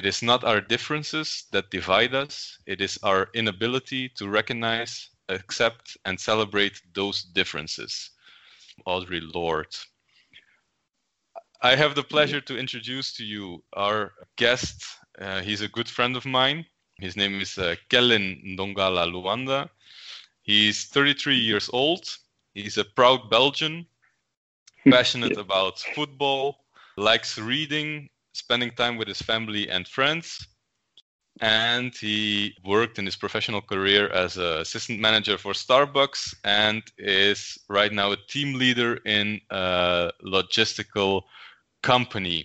It is not our differences that divide us. It is our inability to recognize, accept, and celebrate those differences. Audre Lorde. I have the pleasure to introduce to you our guest. He's a good friend of mine. His name is Kellen Ndongala Luanda. He's 33 years old. He's a proud Belgian, passionate about football, likes reading, spending time with his family and friends. And he worked in his professional career as an assistant manager for Starbucks and is right now a team leader in a logistical company.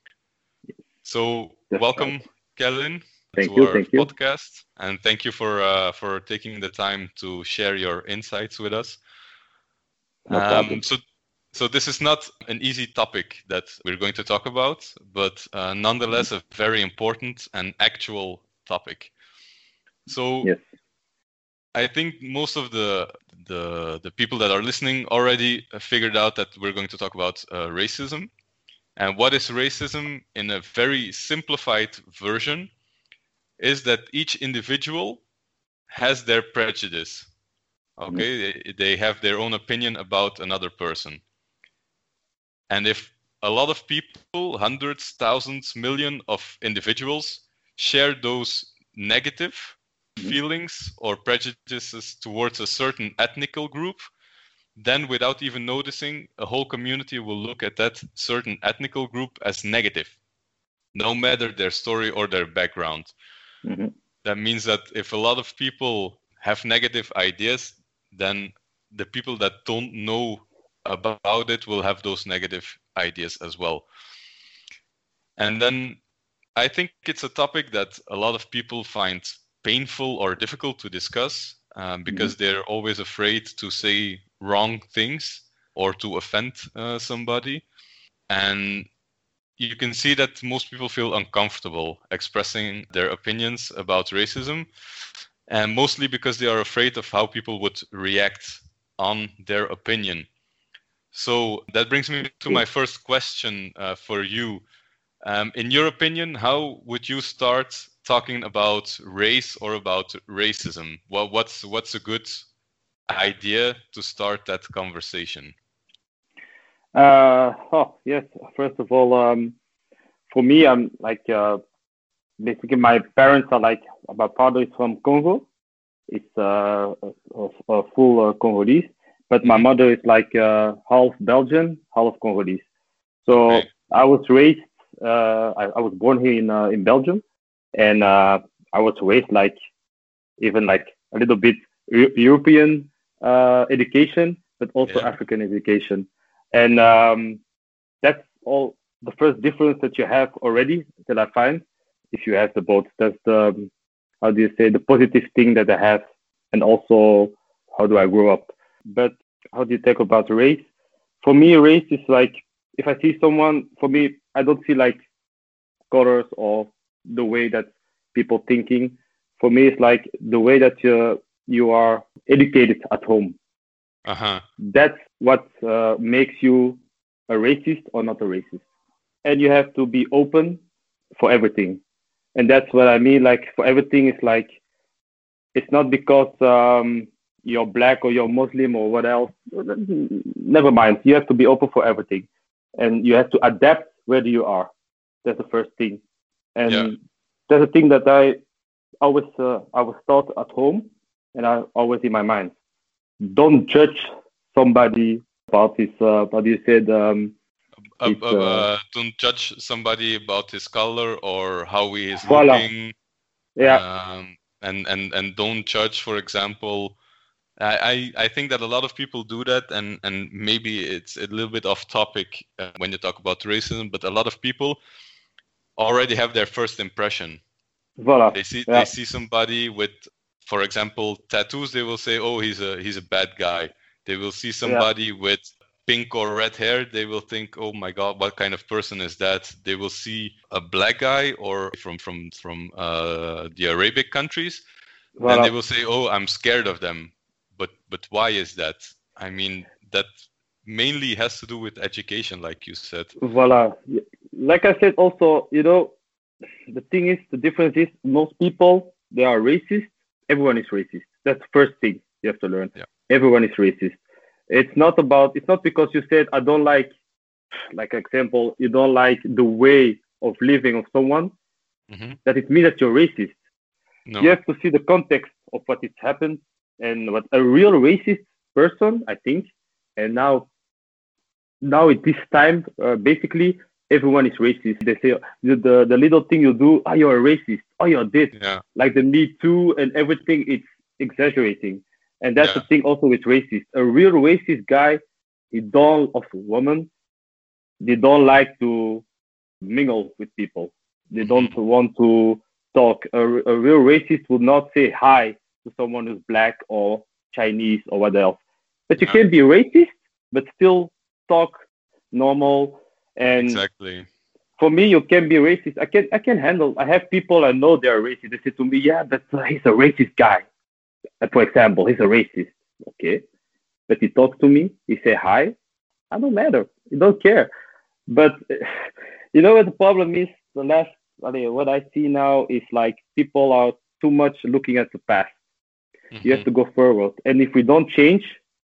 So welcome, Kellen, to our podcast. And thank you for taking the time to share your insights with us. No problem. So this is not an easy topic that we're going to talk about, but nonetheless a very important and actual topic. So yes. I think most of the people that are listening already figured out that we're going to talk about racism. And what is racism in a very simplified version is that each individual has their prejudice. Okay, they have their own opinion about another person. And if a lot of people, hundreds, thousands, millions of individuals share those negative feelings or prejudices towards a certain ethnical group, then without even noticing, a whole community will look at that certain ethnical group as negative, no matter their story or their background. That means that if a lot of people have negative ideas, then the people that don't know about it will have those negative ideas as well. And then I think it's a topic that a lot of people find painful or difficult to discuss because they're always afraid to say wrong things or to offend somebody. And you can see that most people feel uncomfortable expressing their opinions about racism, and mostly because they are afraid of how people would react on their opinion. So that brings me to my first question for you. In your opinion, how would you start talking about race or about racism? Well, what's a good idea to start that conversation? Yes. First of all, for me, I'm like basically my parents are like, my father is from Congo. It's a full Congolese, but my mother is like half Belgian, half Congolese. So I was raised. I was born here in Belgium, and I was raised like even like a little bit European education, but also African education. And that's all the first difference that you have already that I find. If you have the both, that's the, how do you say, the positive thing that I have, and also how do I grow up. But how do you talk about race? For me, race is like, if I see someone, for me, I don't see like colors or the way that people thinking. For me, it's like the way that you are educated at home. That's what makes you a racist or not a racist. And you have to be open for everything. And that's what I mean. Like for everything, it's like, it's not because you're black or you're Muslim or what else. Never mind. You have to be open for everything. And you have to adapt where you are. That's the first thing. And that's the thing that I was taught at home, and I always in my mind. Don't judge somebody about his, what you said. Don't judge somebody about his color or how he is looking. And don't judge, for example. I think that a lot of people do that, and maybe it's a little bit off topic when you talk about racism, but a lot of people already have their first impression. They see somebody with, for example, tattoos. They will say, "Oh, he's a bad guy." They will see somebody with pink or red hair. They will think, "Oh my God, what kind of person is that?" They will see a black guy or from the Arabic countries, and they will say, "Oh, I'm scared of them." But why is that? I mean, that mainly has to do with education, like you said. Like I said, also, the thing is, the difference is most people they are racist. Everyone is racist. That's the first thing you have to learn. Yeah. Everyone is racist. It's not about. It's not because you said I don't like example, you don't like the way of living of someone Hmm. that it means that you're racist. You No. have to see the context of what has happened and what a real racist person, I think. And now at this time, basically everyone is racist. They say the little thing you do, oh, you're a racist, oh, you're this, Yeah. like the Me Too and everything. It's exaggerating, and that's the Yeah. thing also with racist. A real racist guy, he don't of a woman, they don't like to mingle with people. They don't Hmm. want to talk. A real racist would not say hi to someone who's black or Chinese or what else. But you Yeah. can be racist, but still talk normal. And Exactly. for me, you can be racist. I can handle. I have people I know they are racist. They say to me, "Yeah, but he's a racist guy." For example, he's a racist. Okay, but he talks to me. He say hi. I don't matter. He don't care. But you know what the problem is? The last, what I see now is like people are too much looking at the past. You have Hmm. to go forward, and if we don't change,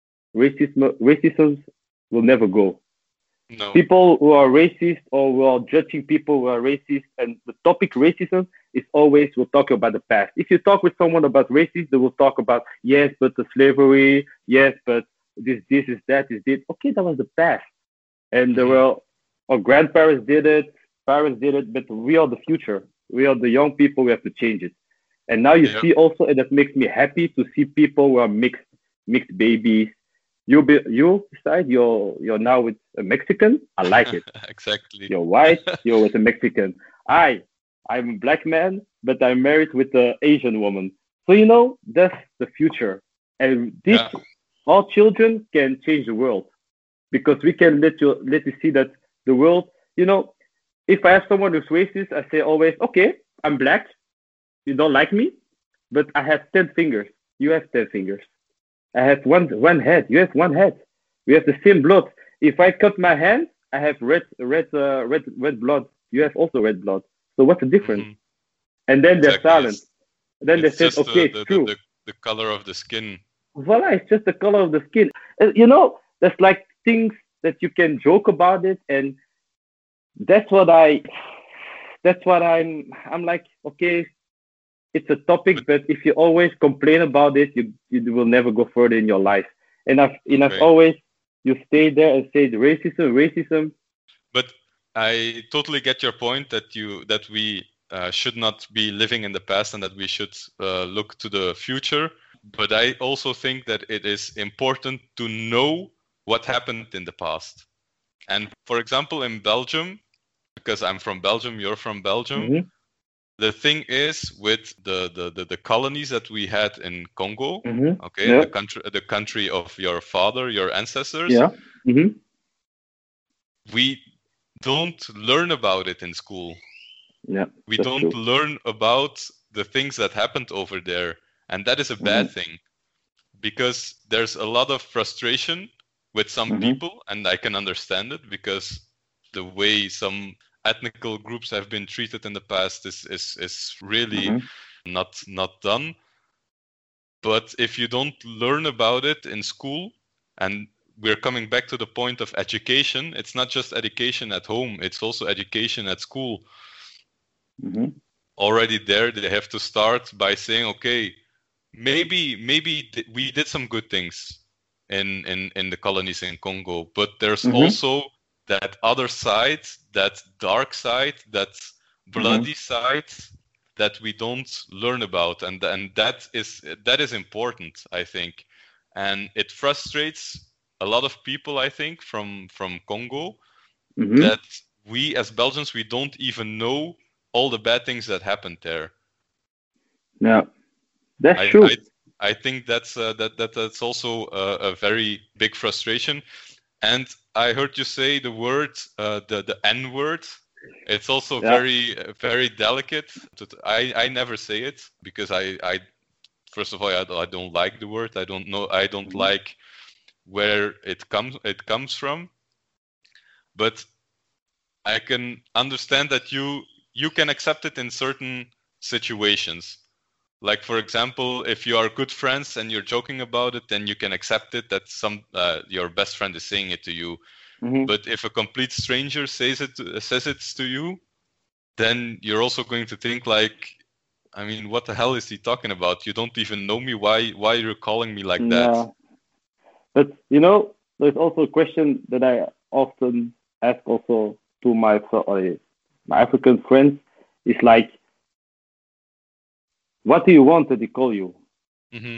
racism will never go. No. People who are racist or who are judging people who are racist, and the topic racism is always we'll talk about the past. If you talk with someone about racism, they will talk about yes, but the slavery, yes, but this is that is this. Okay, that was the past. And there Hmm. were our grandparents did it, parents did it, but we are the future. We are the young people. We have to change it. And now you Yeah. see also, and that makes me happy to see people who are mixed babies. You decide you're now with a Mexican. I like it. Exactly. You're white. You're with a Mexican. I'm a black man, but I'm married with an Asian woman. So that's the future, and this Yeah. all children can change the world because we can let you see that the world, if I have someone who's racist, I say always, okay, I'm black, you don't like me, but I have 10 fingers, you have 10 fingers. I have one head, you have one head. We have the same blood. If I cut my hand, I have red blood. You have also red blood. So what's the difference? Hmm. And then they're Exactly. silent. Then they It's said, just okay, it's true. the color of the skin. Voila, it's just the color of the skin. There's like things that you can joke about it, and that's what I that's what I'm like, okay, it's a But topic, but if you always complain about it, you will never go further in your life. And I've okay. always you stay there and say the racism. But I totally get your point that we should not be living in the past and that we should look to the future. But I also think that it is important to know what happened in the past. And for example, in Belgium, because I'm from Belgium, you're from Belgium. Mm-hmm, The thing is with the colonies that we had in Congo, mm-hmm. okay, Yeah, the country of your father, your ancestors, yeah. Mm-hmm. we don't learn about it in school. Yeah, We that's don't true. learn about the things that happened over there, and that is a bad Mm-hmm, thing because there's a lot of frustration with some mm-hmm, people, and I can understand it because the way some ethnical groups have been treated in the past is really mm-hmm, not done. But if you don't learn about it in school, and we're coming back to the point of education, it's not just education at home, it's also education at school. mm-hmm, Already there, they have to start by saying, okay, maybe we did some good things in the colonies in Congo, but there's mm-hmm, also that other side, that dark side, that mm-hmm. bloody side that we don't learn about, and that is important, I think, and it frustrates a lot of people, I think, from Congo, Mm-hmm. that we as Belgians we don't even know all the bad things that happened there. Yeah, that's I I true. I think that's also a very big frustration. And I heard you say the word, the N word. It's also Yeah. very delicate. I never say it because I first of all I don't like the word. I don't know. I don't Mm-hmm. like where it comes from. But I can understand that you you can accept it in certain situations. Like, for example, if you are good friends and you're joking about it, then you can accept it that your best friend is saying it to you. Mm-hmm. But if a complete stranger says it to you, then you're also going to think like, I mean, what the hell is he talking about? You don't even know me. Why you're calling me like that? Yeah. But you know, there's also a question that I often ask also to my African friends. It's like, what do you want that they call you? Mm-hmm.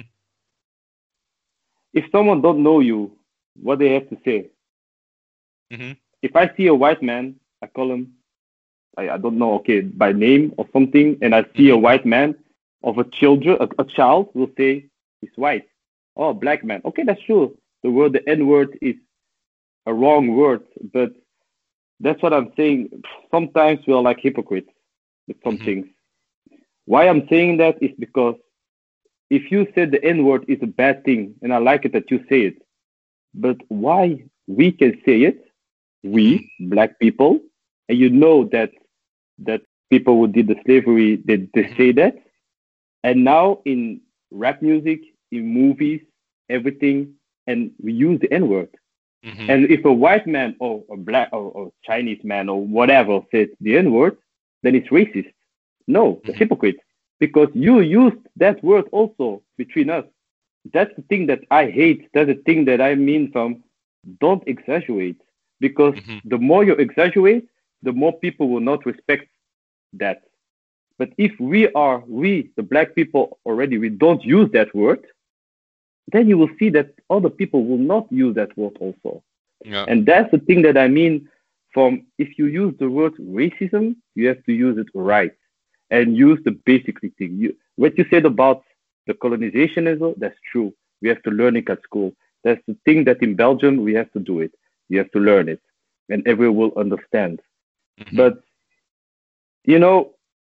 If someone don't know you, what they have to say? Mm-hmm. If I see a white man, I call him, I don't know, okay, by name or something, and I see a Mm-hmm. white man of a child will say he's white. Oh, black man. Okay, that's true. The N word is a wrong word, but that's what I'm saying. Sometimes we are like hypocrites with some Mm-hmm. things. Why I'm saying that is because if you said the N word is a bad thing, and I like it that you say it, but why we can say it, Mm-hmm. we black people, and you know that people who did the slavery they Mm-hmm. say that, and now in rap music, in movies, everything, and we use the N word. Mm-hmm. And if a white man or a black or Chinese man or whatever says the N word, then it's racist. No, that's Mm-hmm. hypocrite. Because you used that word also between us. That's the thing that I hate. That's the thing that I mean from don't exaggerate. Because Mm-hmm. the more you exaggerate, the more people will not respect that. But if we, the black people already, we don't use that word, then you will see that other people will not use that word also. Yeah. And that's the thing that I mean from if you use the word racism, you have to use it right and use the basic thing. What you said about the colonization is that's true. We have to learn it at school. That's the thing that in Belgium we have to do it. You have to learn it, and everyone will understand. Mm-hmm. But you know,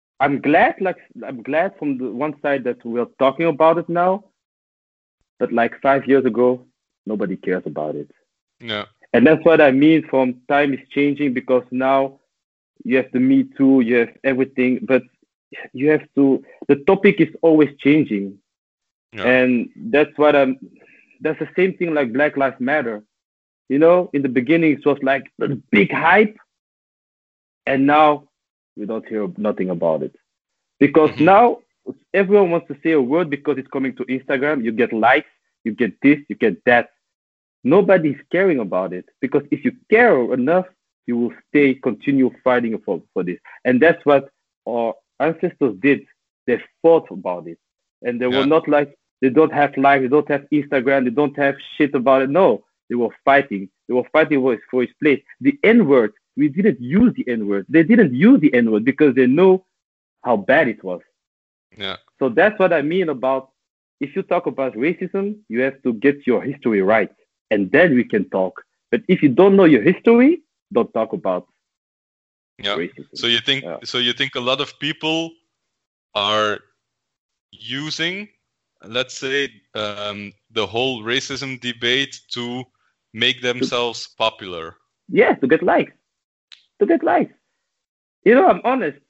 I'm glad from the one side that we're talking about it now. But like 5 years ago, nobody cares about it. Yeah. And that's what I mean from time is changing because now you have the Me Too, you have everything, but you have to, the topic is always changing. Yeah. And that's the same thing like Black Lives Matter. In the beginning, it was like a big hype, and now we don't hear nothing about it. Because Mm-hmm. now everyone wants to say a word because it's coming to Instagram, you get likes, you get this, you get that. Nobody's caring about it because if you care enough, you will continue fighting for this. And that's what our ancestors did. They fought about it. And they were Yeah. not like, they don't have likes, they don't have Instagram, they don't have shit about it. No, they were fighting. They were fighting for his place. The N word, we didn't use the N word. They didn't use the N word because they know how bad it was. Yeah. So that's what I mean about if you talk about racism, you have to get your history right, and then we can talk. But if you don't know your history, don't talk about Yeah. racism. So you think Yeah. a lot of people are using, let's say, the whole racism debate to make To, themselves popular. yeah, to get likes. To get likes. I'm honest.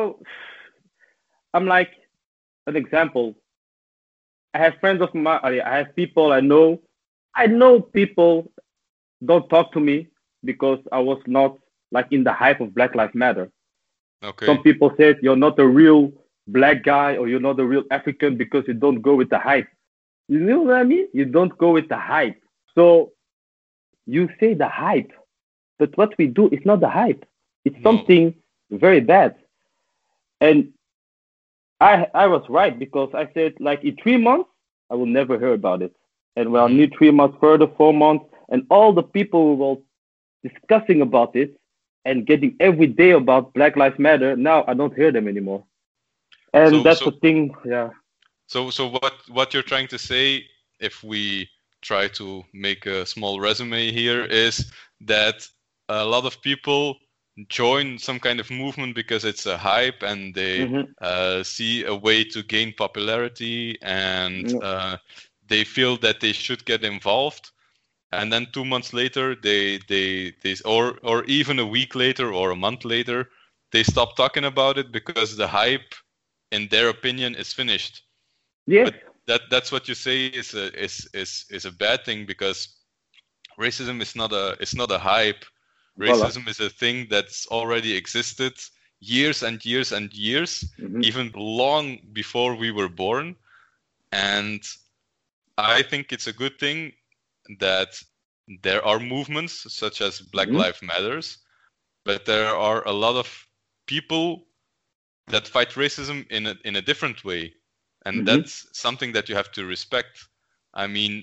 I'm like an example. I have friends of mine. I have people I know. I know people don't talk to me because I was not like in the hype of Black Lives Matter. Okay. Some people said you're not a real black guy or you're not a real African because you don't go with the hype. You know what I mean? You don't go with the hype. So you say the hype, but what we do is not the hype. It's No. something very bad. And I was right because I said like in 3 months I will never hear about it. And we are Mm-hmm. need 3 months further, 4 months, and all the people who were discussing about it and getting every day about Black Lives Matter, now I don't hear them anymore. And So that's so the thing, yeah. so what you're trying to say, if we try to make a small resume here, is that a lot of people join some kind of movement because it's a hype and they Mm-hmm. see a way to gain popularity, and Yeah. they feel that they should get involved, and then 2 months later or even a week later or a month later they stop talking about it because the hype, in their opinion, is finished. Yes. But that's what you say is a bad thing, because racism is not a hype. Racism is a thing that's already existed years and years and years, even long before we were born. And I think it's a good thing that there are movements such as Black Lives Matters, but there are a lot of people that fight racism in a different way. And that's something that you have to respect. I mean,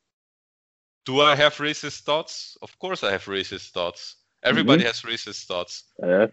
do I have racist thoughts? Of course I have racist thoughts. Everybody has racist thoughts.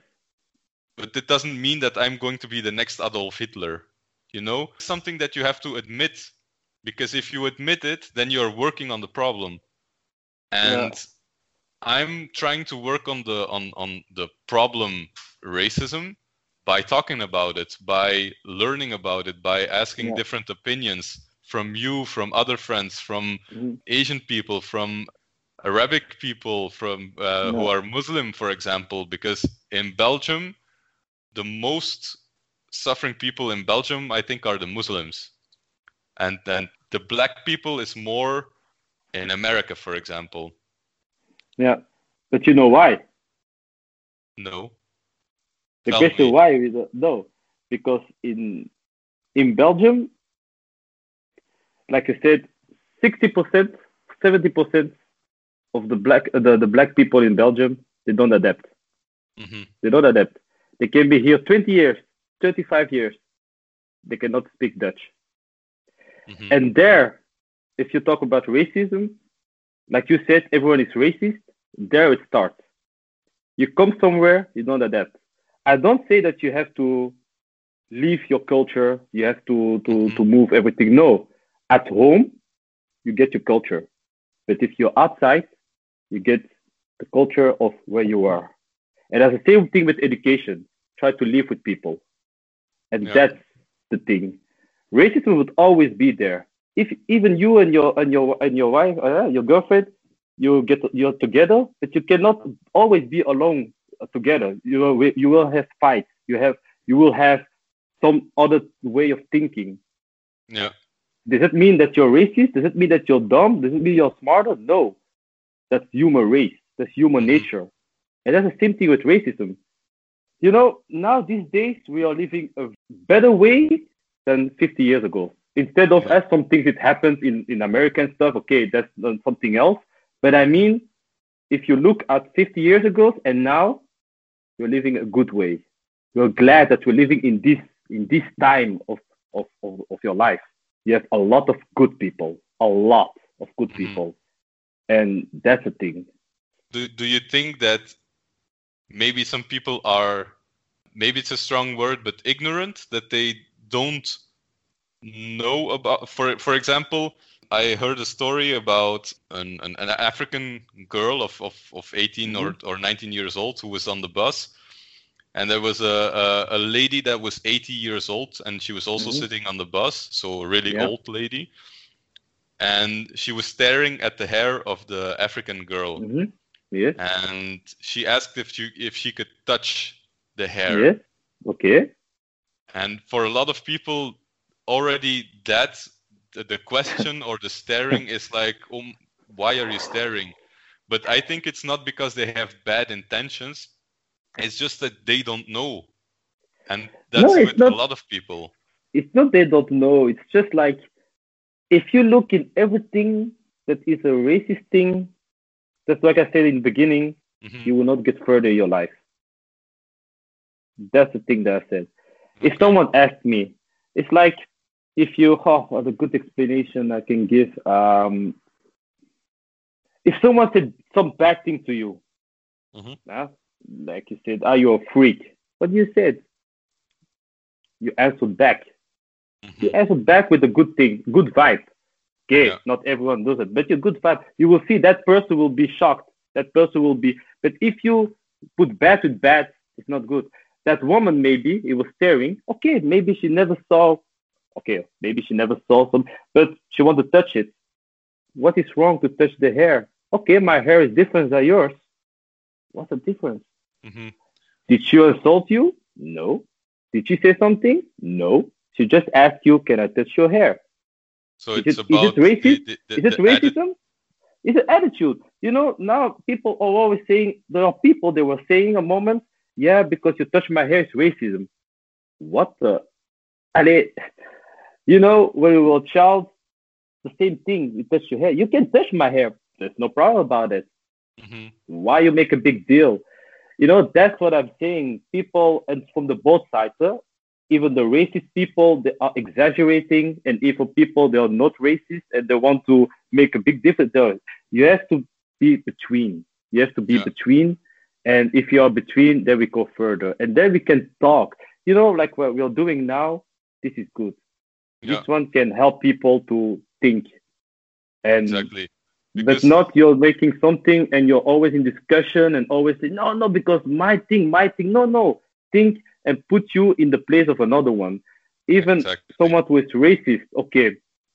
But it doesn't mean that I'm going to be the next Adolf Hitler. You know, something that you have to admit, because if you admit it, then you're working on the problem. And I'm trying to work on the problem racism by talking about it, by learning about it, by asking different opinions from you, from other friends, from Asian people, from Arabic people, from who are Muslim, for example, because in Belgium, the most suffering people in Belgium, I think, are the Muslims. And then the black people is more in America, for example. Yeah, but you know why? No. The question why we don't know, because in Belgium, like I said, 60%, 70% of the black people in Belgium, they don't adapt. They don't adapt. They can be here 20 years, 35 years. They cannot speak Dutch. And there, if you talk about racism, like you said, everyone is racist. There it starts. You come somewhere, you don't adapt. I don't say that you have to leave your culture, you have to move everything. No. At home, you get your culture. But if you're outside, you get the culture of where you are. And that's the same thing with education. Try to live with people. And that's the thing. Racism would always be there. If even you and your wife, your girlfriend, you're together, but you cannot always be alone together. You will have fights. You will have some other way of thinking. Yeah. Does it mean that you're racist? Does it mean that you're dumb? Does it mean you're smarter? No. That's human race. That's human nature. And that's the same thing with racism. You know, now these days we are living a better way than 50 years ago. Instead of as some things that happens in American stuff, okay, that's something else. But I mean, if you look at 50 years ago and now, you're living a good way. You're glad that you're living in this time of your life. You have a lot of good people, and that's the thing. Do you think that maybe some people are, maybe it's a strong word, but ignorant, that they don't know about, for example, I heard a story about an African girl of 18 or 19 years old who was on the bus, and there was a lady that was 80 years old, and she was also sitting on the bus, so a really old lady, and she was staring at the hair of the African girl. Yes. And she asked if she could touch the hair. Yes. Okay. And for a lot of people, already that's the question or the staring is like, why are you staring? But I think it's not because they have bad intentions. It's just that they don't know. And that's with a lot of people. It's not they don't know. It's just like, if you look in everything that is a racist thing, that's like I said in the beginning, you will not get further in your life. That's the thing that I said. If someone asked me, it's like, if you, what a good explanation I can give. If someone said some bad thing to you, like you said, you're a freak. What you said? You answered back. You answered back with a good thing, good vibe. Okay, not everyone does it, but your good vibe. You will see that person will be shocked. That person will be. But if you put bad with bad, it's not good. That woman, maybe it was staring. Okay, maybe she never saw. Okay, maybe she never saw some, but she wanted to touch it. What is wrong to touch the hair? Okay, my hair is different than yours. What's the difference? Did she insult you? No. Did she say something? No. She just asked you, "Can I touch your hair?" So Is it's it about racist? Is it the edit. racism? It's an attitude. Now people are always saying, there are people they were saying a moment, yeah, because you touch my hair is racism. What the? Allez, when we were a child, the same thing. You touch your hair. You can touch my hair. There's no problem about it. Hmm. Why you make a big deal? That's what I'm saying. People, and from the both sides, even the racist people, they are exaggerating, and even people, they are not racist and they want to make a big difference. You have to be between. You have to be Yeah, between, and if you are between, then we go further, and then we can talk. Like what we're doing now. This is good. This yeah, one can help people to think, and exactly. but Because not you're making something and you're always in discussion and always say no, no, because my thing. No, no, think and put you in the place of another one. Even exactly, someone who is racist. Okay,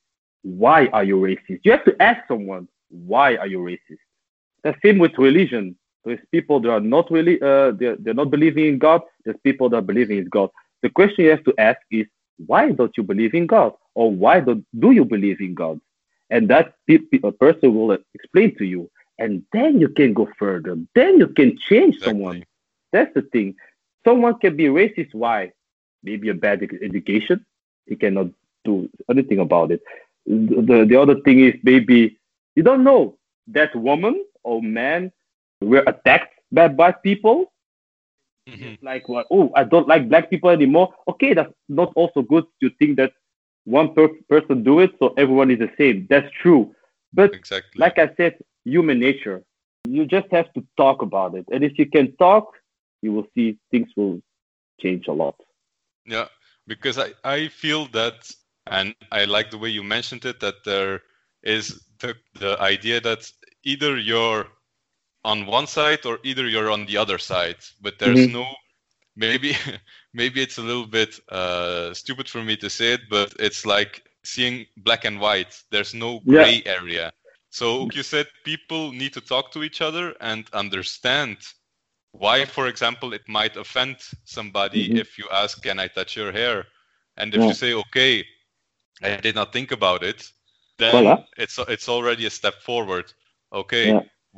why are you racist? You have to ask someone, why are you racist? The same with religion. There's people that are not really they're not believing in God. There's people that are believing in God. The question you have to ask is, why don't you believe in God, or why do you believe in God? And that a person will explain to you, and then you can go further. Then you can change someone. exactly. That's the thing. Someone can be racist. Why? Maybe a bad education. He cannot do anything about it. The other thing is, maybe you don't know that woman or man were attacked by black people. Hmm. Just like what? Oh, I don't like black people anymore. Okay, that's not also good to think that one person do it, so everyone is the same. That's true. But Exactly. like I said, human nature. You just have to talk about it, and if you can talk, you will see things will change a lot. Yeah, because I feel that, and I like the way you mentioned it, that there is the idea that either you're on one side or either you're on the other side, but there's Hmm. no, maybe maybe it's a little bit stupid for me to say it, but it's like seeing black and white. There's no Yeah. gray area. So you said people need to talk to each other and understand why, for example, it might offend somebody Hmm. if you ask, "Can I touch your hair?" And if you Yeah. say, "Okay, I did not think about it," then Voila. it's already a step forward. Okay, Yeah.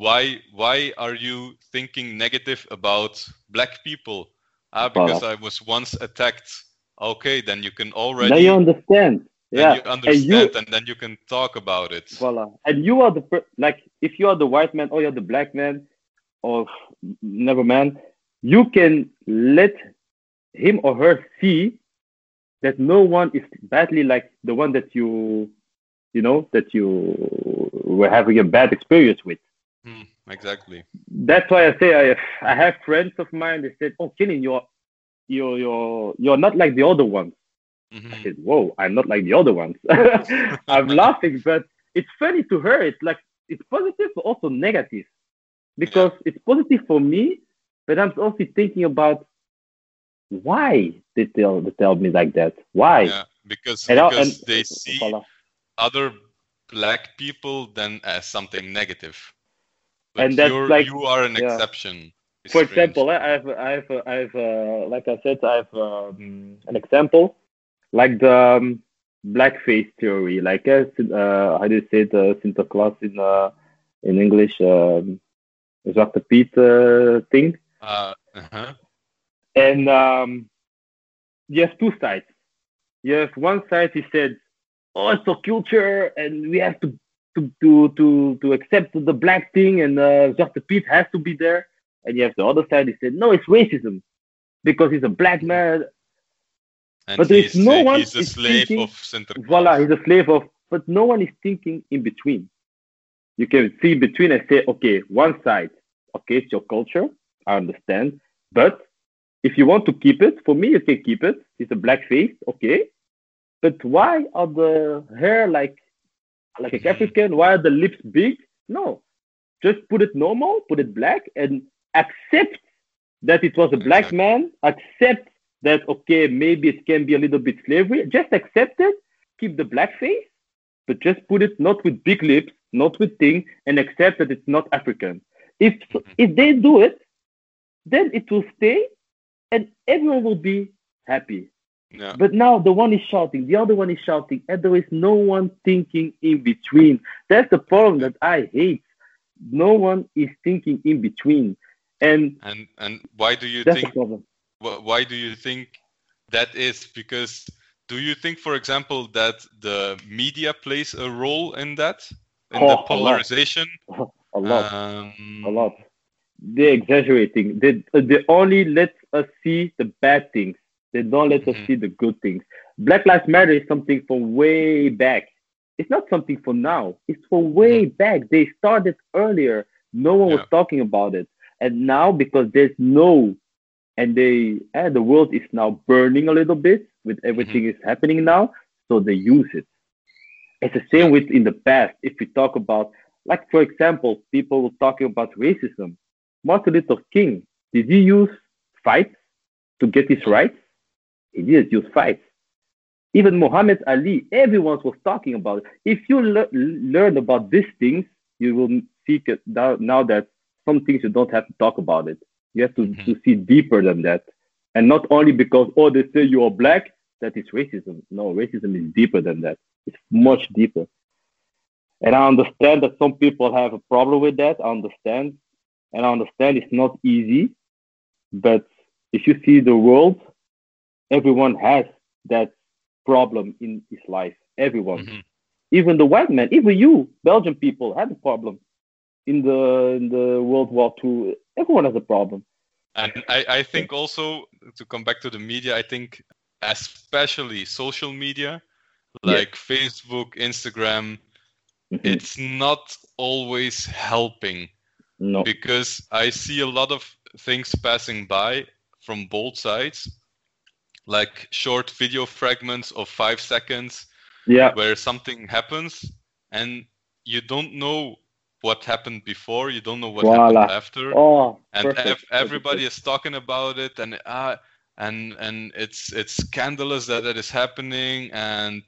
why are you thinking negative about black people? Ah, because Voila. I was once attacked. Okay, then you can Now you already, understand. then you Yeah. And understand, you, and then you can talk about it. voila. And you are like, if you are the white man or you're the black man or never man, you can let him or her see that no one is badly like the one that you were having a bad experience with. Exactly. That's why I say I have friends of mine. They said, "Oh, Killing, you're not like the other ones." I Hmm. said, "Whoa, I'm not like the other ones." I'm laughing, but it's funny to her. It's like it's positive, but also negative, Yeah, because it's positive for me, but I'm also thinking about why they tell me like that. Why? yeah, because And they see voila. other black people then as something negative. And But that's like, you are an yeah. exception. It's For strange. example, like I said, I have an example, like the blackface theory, like how do you say it, Santa Claus in English, Zwarte Piet thing. Uh-huh. And you have two sides. You have one side, he said, "Oh, it's a culture, and we have to accept the black thing, and Zwarte Piet has to be there." And you have the other side, he said, "No, it's racism because he's a black Mhm. man." And But there is no one he's a is slave of thinking, Santa voila, Claus. he's a slave of, but no one is thinking in between. You can see in between and say, okay, one side, okay, it's your culture, I understand. But if you want to keep it, for me, you can keep it. It's a black face, okay. But why are the hair like a Hmm. African? Why are the lips big? No, just put it normal, put it black, and accept that it was a black Exactly. man. Accept that, okay, maybe it can be a little bit slavery. Just accept it. Keep the black face, but just put it not with big lips, not with thing, and accept that it's not African. If Hmm. if they do it, then it will stay. and everyone will be happy. Yeah. But now the one is shouting, the other one is shouting, and there is no one thinking in between. That's the problem that I hate. No one is thinking in between, and And why do you that's the think problem. why do you think that is? Because do you think, for example, that the media plays a role in that, in the Oh, a lot, polarization? a lot, a Um, lot. They're exaggerating. They only let us see the bad things. They don't let us mhm, see the good things. Black Lives Matter is something from way back. It's not something for now. It's for mhm, way back. They started earlier. No one was yeah. talking about it. And now because there's no and the world is now burning a little bit with Mhm, everything is happening now, so they use it. It's the same yeah. with in the past. If we talk about, like for example, people were talking about racism. Martin Luther King, did he use fights to get his No. rights? He didn't use fights. Even Muhammad Ali, everyone was talking about it. If you learn about these things, you will see it now that some things you don't have to talk about it. You have Mhm, to see deeper than that. And not only because, oh, they say you are black, that is racism. No, racism is deeper than that. It's yeah. much deeper. And I understand that some people have a problem with that. I understand. And I understand it's not easy. But if you see the world, everyone has that problem in his life. Everyone. Mhm. Even the white man, even you, Belgian people, have a problem in the World War II. Everyone has a problem. And I think also, to come back to the media, I think especially social media Yes. like Facebook, Instagram, Hmm. it's not always helping, No. because I see a lot of things passing by from both sides, like short video fragments of 5 seconds Yeah. where something happens and you don't know what happened before, you don't know what happened Voila. after, Oh, and perfect. What you said. everybody is talking about it, and it's scandalous that that is happening, and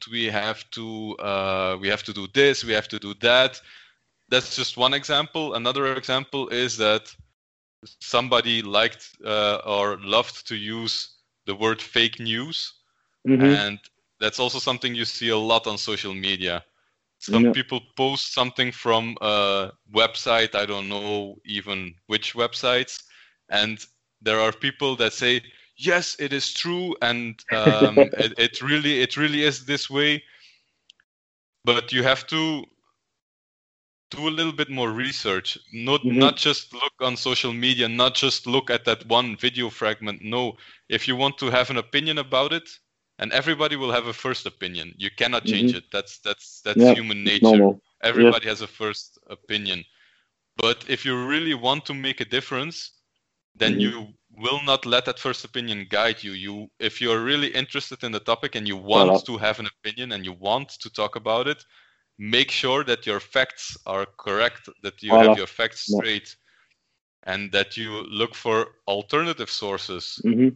we have to do this, we have to do that. That's just one example. Another example is that somebody liked or loved to use the word fake news, Hmm. and that's also something you see a lot on social media. Some No. people post something from a website, I don't know even which websites, and there are people that say, yes, it is true, and it really is this way. But you have to do a little bit more research. Not Hmm. just look on social media, not just look at that one video fragment. No, if you want to have an opinion about it, and everybody will have a first opinion. You cannot change Hmm. it. That's Yeah. human It's nature. normal. Yes. Everybody has a first opinion. But if you really want to make a difference, then Hmm. you will not let that first opinion guide you. If you're really interested in the topic and you Voila. want to have an opinion and you want to talk about it, make sure that your facts are correct, that you have Voila. your facts No. straight, and that you look for alternative sources. Hmm.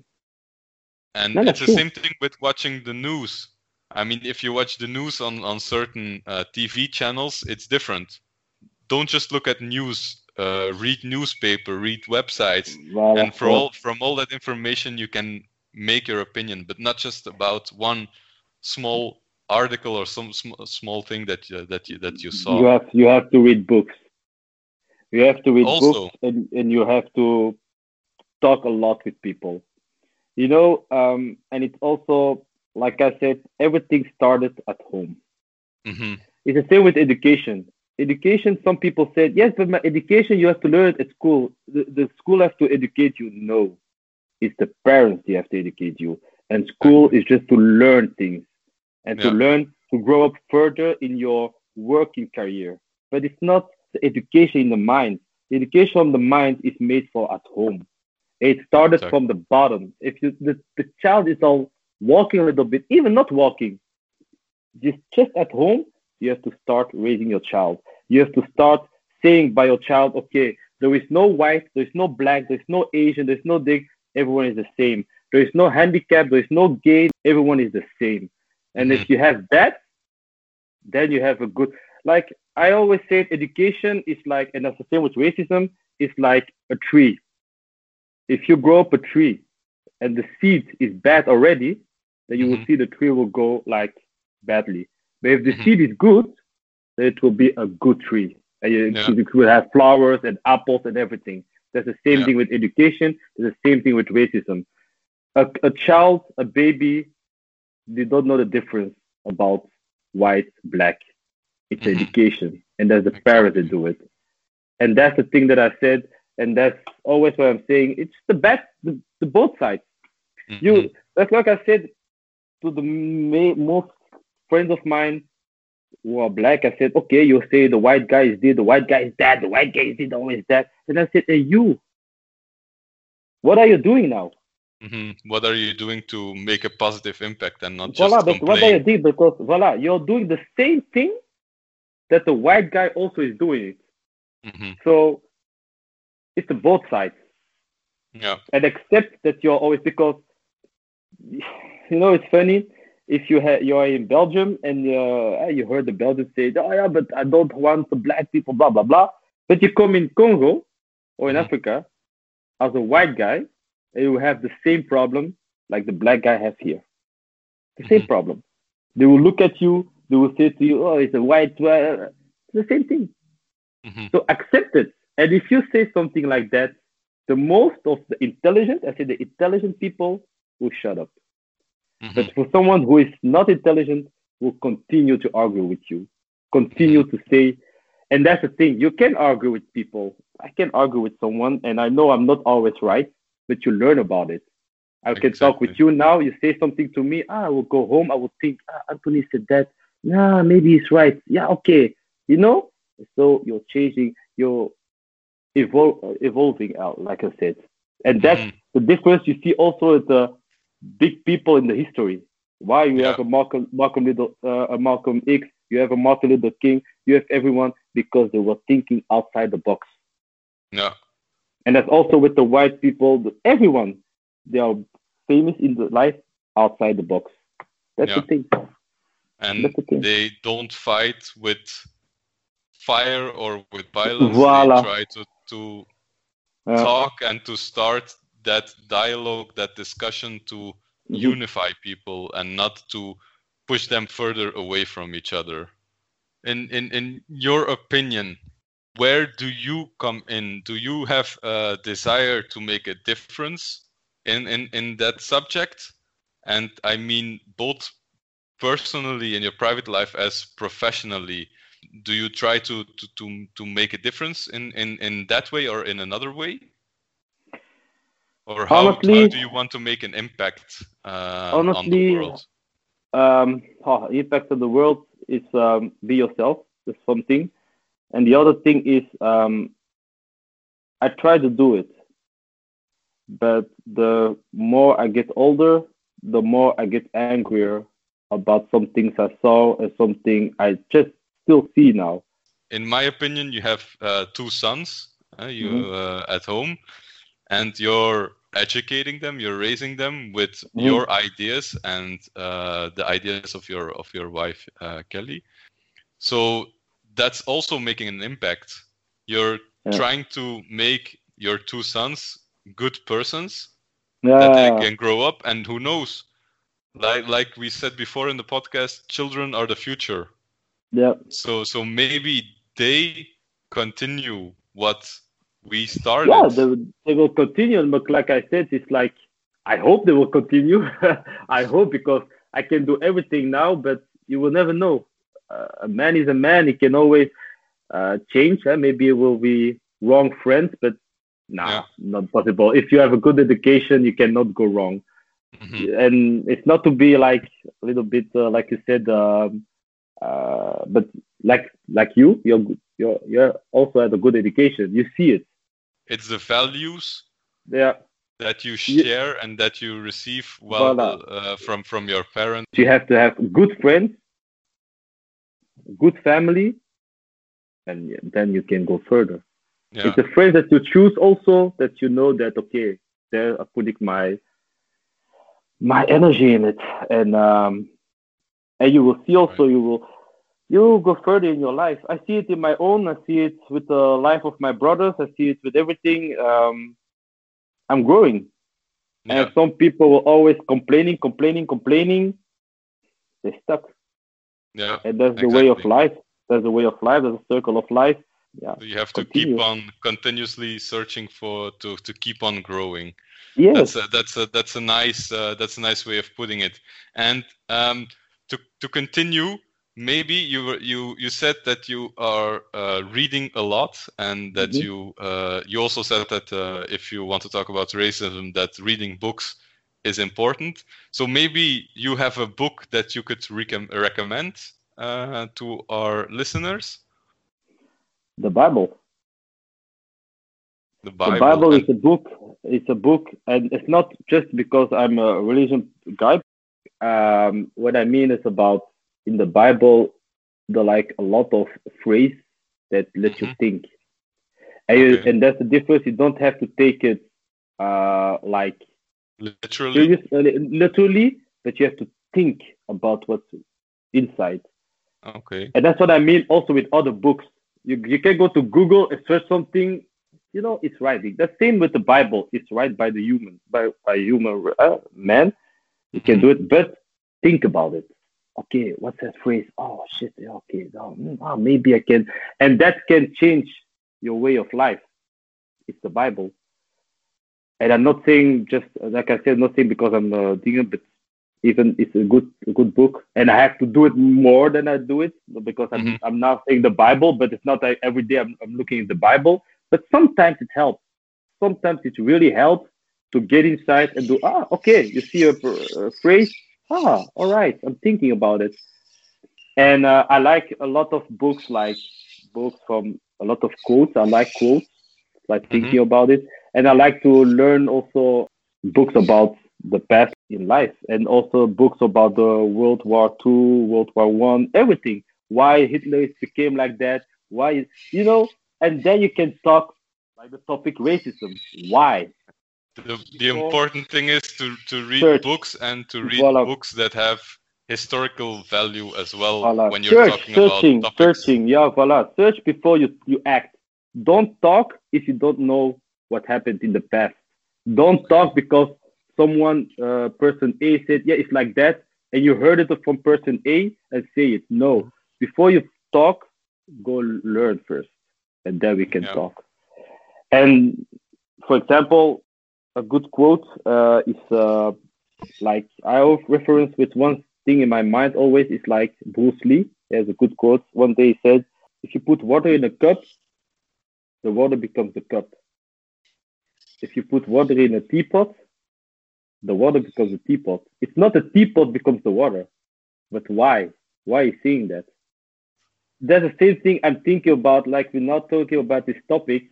And No, it's that's the true. same thing with watching the news. I mean, if you watch the news on certain TV channels, it's different. Don't just look at news. Read newspaper, read websites, Voila. and Yes. from all that information you can make your opinion, but not just about one small article or some small thing that you saw. You have to read books. You have to read books Also, and you have to talk a lot with people. You know, and it's also, like I said, everything started at home. hmm It's the same with education. Education, some people said, yes, but my education, you have to learn it at school. The school has to educate you. No, it's the parents who have to educate you. And school exactly. is just to learn things and to Yeah. learn to grow up further in your working career. But it's not the education in the mind. The education of the mind is made for at home. It started Exactly. from the bottom. If the child is all walking a little bit, even not walking, just at home, you have to start raising your child. You have to start saying by your child, okay, there is no white, there is no black, there is no Asian, there is no dick, everyone is the same. There is no handicap, there is no gay, everyone is the same. And hmm if you have that, then you have a good, like I always say, education is like, and that's the same with racism, it's like a tree. If you grow up a tree, and the seed is bad already, then you will Mm-hmm. see the tree will go like badly. But if the Mm-hmm. seed is good, then it will be a good tree. And Yeah. it will have flowers and apples and everything. That's the same Yeah. thing with education. That's the same thing with racism. A child, a baby, they don't know the difference about white, black. It's Mm-hmm. education. And that's the parents that Exactly. do it. And that's the thing that I said. And that's always what I'm saying. It's the best, the both sides. Mm-hmm. You, that's like I said to the most friends of mine who are black. I said, okay, you say the white guy is this, the white guy is that, the white guy is this, always that. And I said, hey, you, what are you doing now? Mm-hmm. What are you doing to make a positive impact and not Voila, just but what are you complain? doing? Because voila, you're doing the same thing that the white guy also is doing it. Mm-hmm. So it's the both sides. Yeah. And accept that you're always because it's funny if you're in Belgium and you heard the Belgians say, oh yeah, but I don't want the black people, blah blah blah. But you come in Congo or in Mm-hmm. Africa as a white guy, and you have the same problem like the black guy has here. The same Mm-hmm. problem. They will look at you. They will say to you, "Oh, it's a white." It's the same thing. Mm-hmm. So accept it. And if you say something like that, the most of the intelligent, I say the intelligent people will shut up. Mm-hmm. But for someone who is not intelligent, will continue to argue with you, Mm-hmm. continue to say, and that's the thing. You can argue with people. I can argue with someone, and I know I'm not always right, but you learn about it. I can talk with Exactly. you now. You say something to me. I will go home. I will think, Anthony said that. Nah, maybe he's right. Yeah, okay. You know? So you're changing, you're evolving out, like I said. And that's Mm-hmm. the difference you see also with the big people in the history. Why you Yeah. have a Malcolm X, you have a Martin Luther King, you have everyone because they were thinking outside the box. Yeah. And that's also with the white people, everyone, they are famous in the life outside the box. That's the Yeah. thing. And That's the thing. they don't fight with fire or with violence. They Voila. try to Uh, talk and to start that dialogue, that discussion to mhm. unify people and not to push them further away from each other. In your opinion, where do you come in? Do you have a desire to make a difference in that subject? And I mean both personally in your private life as professionally. Do you try to make a difference in that way or in another way? Or how Honestly, do you want to make an impact on the honestly, world? impact of the world is be yourself. That's something. And the other thing is I try to do it, but the more I get older, the more I get angrier about some things I saw and something I just still see now. In my opinion, you have two sons, Hmm. at home, and you're educating them, you're raising them with Hmm. your ideas and the ideas of your wife, Kelly. So that's also making an impact. You're Yeah. trying to make your two sons good persons that they Yeah. can grow up, and who knows, like we said before in the podcast, children are the future. Yeah. So maybe they continue what we Yeah. started. They will continue, but like I said, it's like I hope they will continue. I hope because I can do everything now, but you will never know. A man is a man. He can always change. Maybe it will be wrong friends, but Yeah. nah, not possible. If you have a good education, you cannot go wrong. Hmm. And it's not to be like a little bit like you said, but like you're also had a good education. You see it. It's the values Yeah. that you You, share and that you receive well voila. from your parents. You have to have good friends, good family, and then you can go further. Yeah. It's the friends that you choose also that you know that okay, they're putting my energy in it, and you will see Right. also you will go further in your life. I see it in my own. I see it with the life of my brothers. I see it with everything. I'm growing. And some people will always complaining. They stuck. Yeah. And that's the way of life. That's the way of life. That's a circle of life. Yeah. So you have to keep on continuously searching to keep on growing. Yes. That's a nice way of putting it. And to continue, maybe you said that you are reading a lot, and that you also said that if you want to talk about racism, that reading books is important. So maybe you have a book that you could recommend to our listeners. The Bible. The Bible. The Bible is a book. It's a book, and it's not just because I'm a religion guy. What I mean is about in the Bible, a lot of phrase that let you think, and that's the difference. You don't have to take it literally, but you have to think about what's inside. Okay. And that's what I mean also with other books. You can go to Google and search something, it's right. The same with the Bible. It's right by the human, by human man. You can do it, but think about it. Okay, what's that phrase? Oh shit. Okay, maybe I can, and that can change your way of life. It's the Bible, and I'm not saying just like I said, not saying because I'm doing it, but even it's a good book, and I have to do it more than I do it because I'm now saying the Bible, but it's not like every day I'm looking at the Bible. But sometimes it helps. Sometimes it really helps to get inside and do. Okay, you see a phrase. All right, I'm thinking about it. And I like a lot of books, like books from a lot of quotes. I like quotes, like thinking about it, and I like to learn also books about the past in life, and also books about the World War II, World War I, everything. Why Hitler became like that? Why, and then you can talk like the topic racism. Why? The important thing is to read books, and to read books that have historical value as well. When you're talking about topics. Search before you act. Don't talk if you don't know what happened in the past. Don't talk because someone, person A said, yeah, it's like that, and you heard it from person A and say it. No, before you talk, go learn first, and then we can talk. And for example, a good quote is like I have reference with one thing in my mind always is like Bruce Lee. He has a good quote. One day he said, if you put water in a cup, the water becomes the cup. If you put water in a teapot, the water becomes a teapot. It's not the teapot becomes the water, but why? Why are you saying that? That's the same thing I'm thinking about. Like we're not talking about this topic.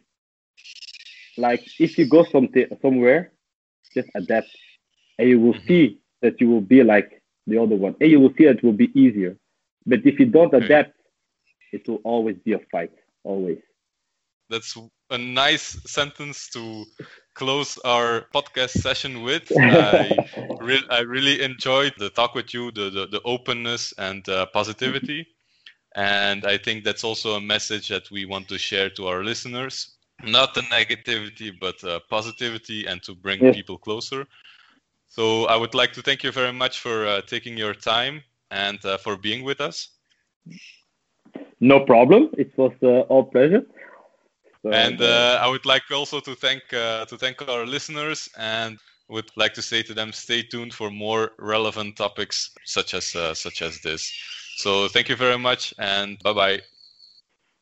Like if you go somewhere, just adapt, and you will see that you will be like the other one, and you will see that it will be easier. But if you don't adapt, it will always be a fight. Always. That's a nice sentence to close our podcast session with. I really enjoyed the talk with you, the openness and positivity. And I think that's also a message that we want to share to our listeners. Not the negativity, but positivity, and to bring people closer. So I would like to thank you very much for taking your time and for being with us. No problem. It was all pleasure. So, and I would like also to thank our listeners, and would like to say to them, stay tuned for more relevant topics such as this. So thank you very much, and bye-bye.